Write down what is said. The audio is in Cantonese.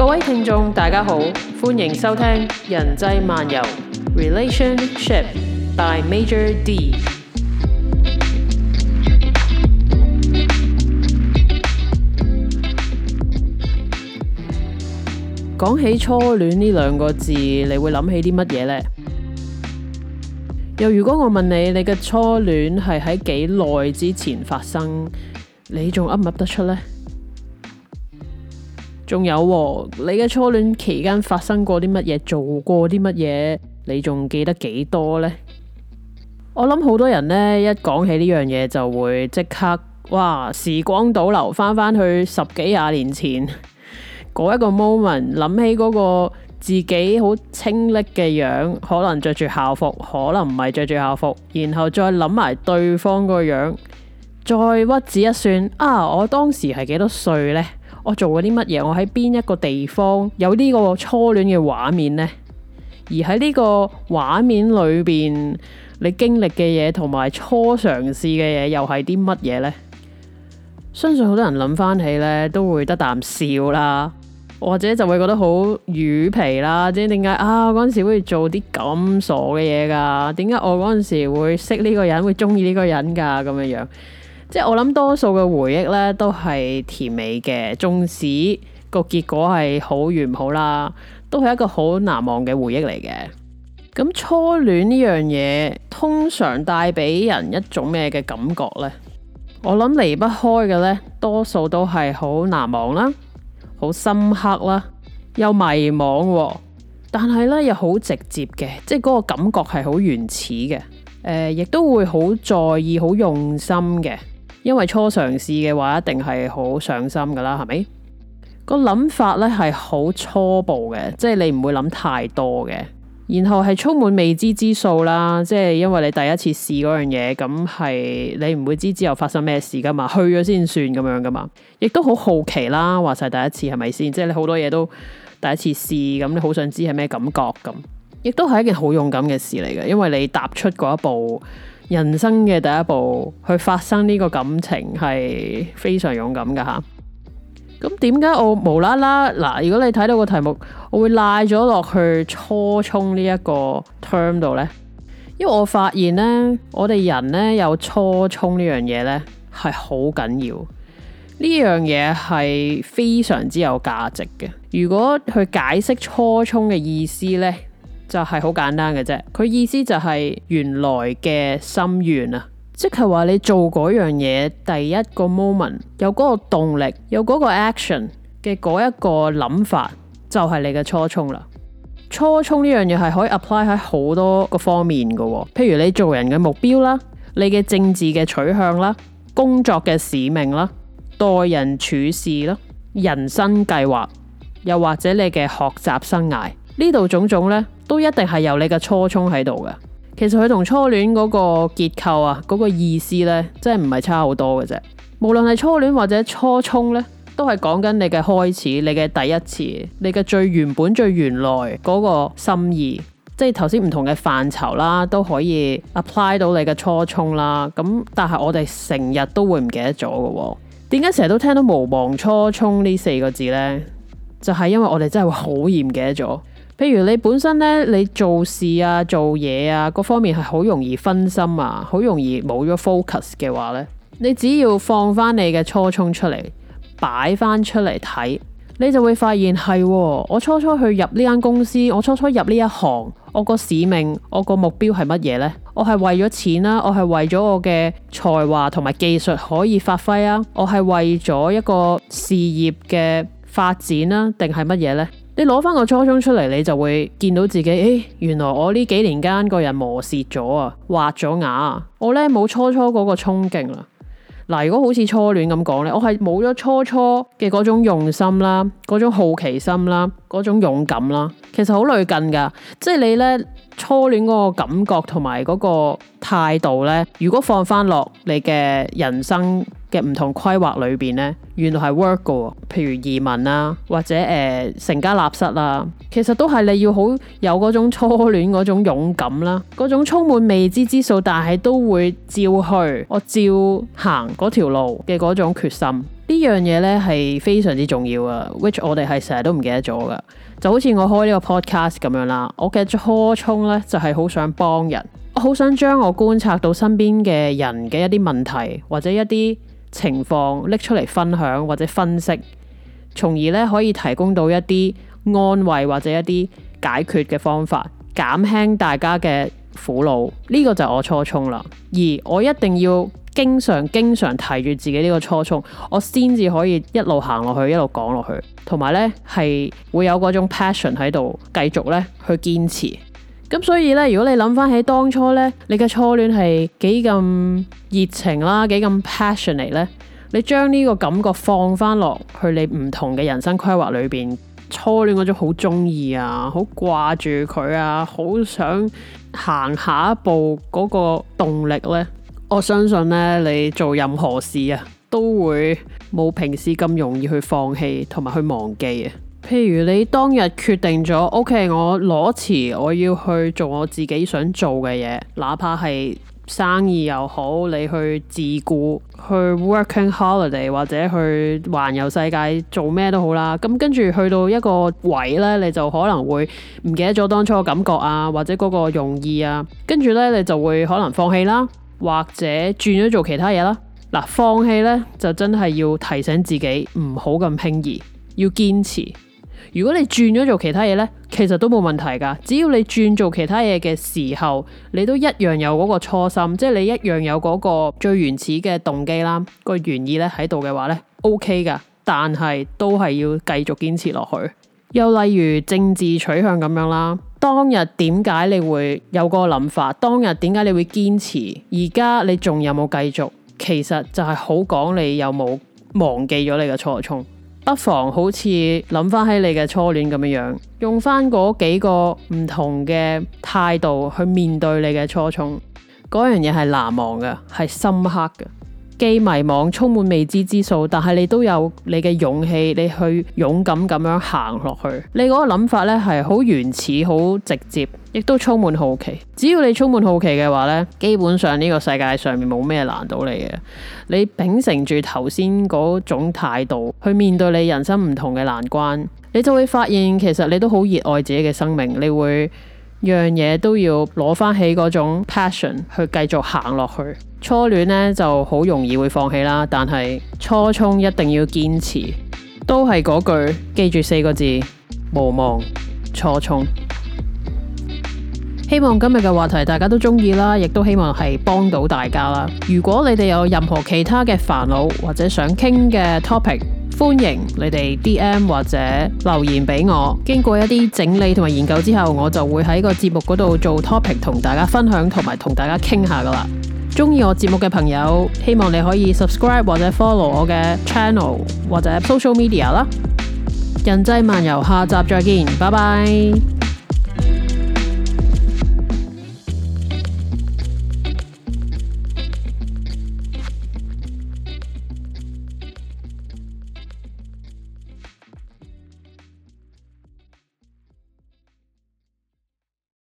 各位聽眾大家好，歡迎收聽人際漫遊 Relationship by Major D。 講起初戀呢兩個字，你會諗起啲乜嘢呢？又如果我問你，你嘅初戀係喺幾耐之前發生，你仲噏唔噏得出呢？仲有你嘅初戀期間發生過啲乜嘢，做過啲乜嘢，你仲記得幾多呢？我諗好多人呢，一講起呢樣嘢就會即刻時光倒流翻去10幾20年前嗰一個 moment， 諗起嗰個自己好清冽嘅樣，可能着住校服，可能唔係着住校服，然後再諗埋對方個樣，再屈指一算我當時係幾多歲呢？我做過啲乜嘢？我喺邊一個地方有呢個初戀嘅畫面呢？而喺呢個畫面裏邊，你經歷嘅嘢同埋初嘗試嘅嘢又係啲乜嘢呢？相信好多人諗翻起呢，都會得啖笑啦，或者就會覺得好魚皮啦。即係點解我嗰陣時會做啲咁傻嘅嘢噶？點解我嗰陣時會識呢個人，會中意呢個人噶？咁樣樣。即係我諗多數嘅回憶咧都係甜美嘅，縱使個結果係好與唔好啦，都係一個好難忘嘅回憶嚟嘅。咁初戀呢樣嘢通常帶俾人一種咩嘅感覺呢？我諗離不開嘅呢，多數都係好難忘啦，好深刻啦，又迷惘，但係呢又好直接嘅，即係嗰個感覺係好原始嘅，亦都會好在意、好用心嘅。因為初嘗試嘅話，一定係好上心噶啦，係咪？個諗法呢係好初步嘅，即係你唔會諗太多嘅，然後係充滿未知之數啦。即係因為你第一次試嗰樣嘢，咁係你唔會知之後發生咩事噶嘛，去咗先算咁樣噶嘛。亦都好好奇啦，話晒第一次係咪先？即係你好多嘢都第一次試，咁你好想知係咩感覺咁。亦都係一件好勇敢嘅事嚟嘅，因為你踏出嗰一步。人生嘅第一步去發生呢個感情係非常勇敢噶吓。咁點解我無啦啦如果你睇到個題目，我會賴咗落去初衷呢一個 term 度呢？因為我發現呢，我哋人呢有初衷呢樣嘢呢係好緊要，呢樣嘢係非常之有價值嘅。如果去解釋初衷嘅意思呢，就係好簡單嘅啫，佢意思就係原來嘅心願啊，即係話你做嗰樣嘢第一個 moment 有嗰個動力，有嗰個 action 嘅嗰一個諗法，就係你嘅初衷啦。初衷呢樣嘢係可以 apply 喺好多個方面㗎，譬如你做人嘅目標啦，你嘅政治嘅取向啦，工作嘅使命啦，待人處事啦，人生計劃，又或者你嘅學習生涯，呢度種種呢，都一定係有你嘅初衷喺度嘅。其實佢同初戀嗰個結構嗰個意思呢，真係唔係差好多嘅啫。無論係初戀或者初衷呢，都係講緊你嘅開始，你嘅第一次，你嘅最原本最原來嗰個心意。即係頭先唔同嘅範疇啦，都可以 apply 到你嘅初衷啦。咁但係我哋成日都會唔記得咗嘅。點解成日都聽到無忘初衷呢4個字呢？就係因為我哋真係會好易唔記得咗。譬如你本身咧，你做事做嘢各方面係好容易分心好容易冇咗 focus 嘅話咧，你只要放翻你嘅初衷出嚟，擺翻出嚟睇，你就會發現係我初初去入呢間公司，我初初入呢一行，我個使命，我個目標係乜嘢呢？我係為咗錢啦，我係為咗我嘅才華同埋技術可以發揮我係為咗一個事業嘅發展啦，定係乜嘢呢？你攞翻個初衷出嚟，你就會見到自己，原來我呢幾年間個人磨蝕咗滑咗牙，我呢冇初初嗰個衝勁啦。如果好似初戀咁講呢，我係冇咗初初嘅嗰種用心啦，嗰種好奇心啦，嗰種勇敢啦，其實好類近噶。即係你呢初戀嗰個感覺同埋嗰個態度呢，如果放翻落你嘅人生嘅唔同規劃裏邊呢，原來係 work 㗎。譬如移民或者成家立室其實都係你要好有嗰種初戀嗰種勇敢啦，嗰種充滿未知之數，但係都會照去，我照行嗰條路嘅嗰種決心。 呢樣嘢呢係非常之重要啊 ，which 我哋係成日都唔記得咗噶。就好似我開呢個 podcast 咁樣啦，我嘅初衷呢就係好想幫人，我好想將我觀察到身邊嘅人嘅一啲問題或者一啲情況拎出嚟分享或者分析，從而呢可以提供到一啲安慰或者一啲解決嘅方法，減輕大家嘅苦惱。呢個就係我初衷啦，而我一定要經常提住自己呢個初衷，我先至可以一路行落去，一路講落去，同埋呢係會有嗰種 passion 喺度，繼續呢去堅持。咁所以呢，如果你諗翻起當初呢，你嘅初戀係幾咁熱情啦，幾咁 passionate 呢，你將呢個感覺放翻落去你唔同嘅人生規劃裏邊，初戀嗰種好中意啊，好掛住佢啊，好想行下一步嗰個動力呢，我相信呢，你做任何事啊，都會冇平時咁容易去放棄同埋去忘記啊。譬如你當日決定咗 OK， 我裸辭，我要去做我自己想做嘅嘢，哪怕係生意又好，你去自僱，去 working holiday 或者去環遊世界做咩都好啦。咁跟住去到一個位呢，你就可能會唔記得咗當初嘅感覺啊，或者嗰個用意啊，跟住呢，你就會可能放棄啦，或者轉咗做其他嘢啦。嗱，放棄呢，就真係要提醒自己唔好咁輕易，要堅持。如果你轉咗做其他嘢呢，其實都冇問題噶。只要你轉做其他嘢嘅時候，你都一樣有嗰個初心，即係你一樣有嗰個最原始嘅動機啦，個原意咧喺度嘅話呢 OK 噶。但係都係要繼續堅持落去。又例如政治取向咁樣啦，當日點解你會有嗰個諗法？當日點解你會堅持？而家你仲有冇繼續？其實就係好講你有冇忘記咗你嘅初衷。不妨好似諗翻起你嘅初戀咁樣，用翻嗰幾個唔同嘅態度去面對你嘅初衷，嗰樣嘢係難忘嘅，係深刻嘅。既迷茫，充滿未知之數，但係你都有你嘅勇氣，你去勇敢咁樣行落去。你嗰個諗法呢係好原始、好直接，亦都充滿好奇。只要你充滿好奇嘅話呢，基本上呢個世界上面冇咩難到你嘅。你秉承住頭先嗰種態度去面對你人生唔同嘅難關，你就會發現其實你都好熱愛自己嘅生命，你會樣嘢都要攞翻起嗰種 passion 去繼續行落去。初戀呢就好容易會放棄啦，但係初衷一定要堅持，都係嗰句，記住4個字：無忘初衷。希望今日嘅話題大家都中意啦，亦都希望係幫到大家啦。如果你哋有任何其他嘅煩惱或者想傾嘅 topic，歡迎你哋 DM 或者留言俾我。經過一啲整理同埋研究之後，我就會喺個節目嗰度做 topic 同大家分享，同埋同大家傾下噶啦。中意我節目嘅朋友，希望你可以 subscribe 或者 follow 我嘅 channel 或者 social media 啦。人際漫遊，下集再見，拜拜。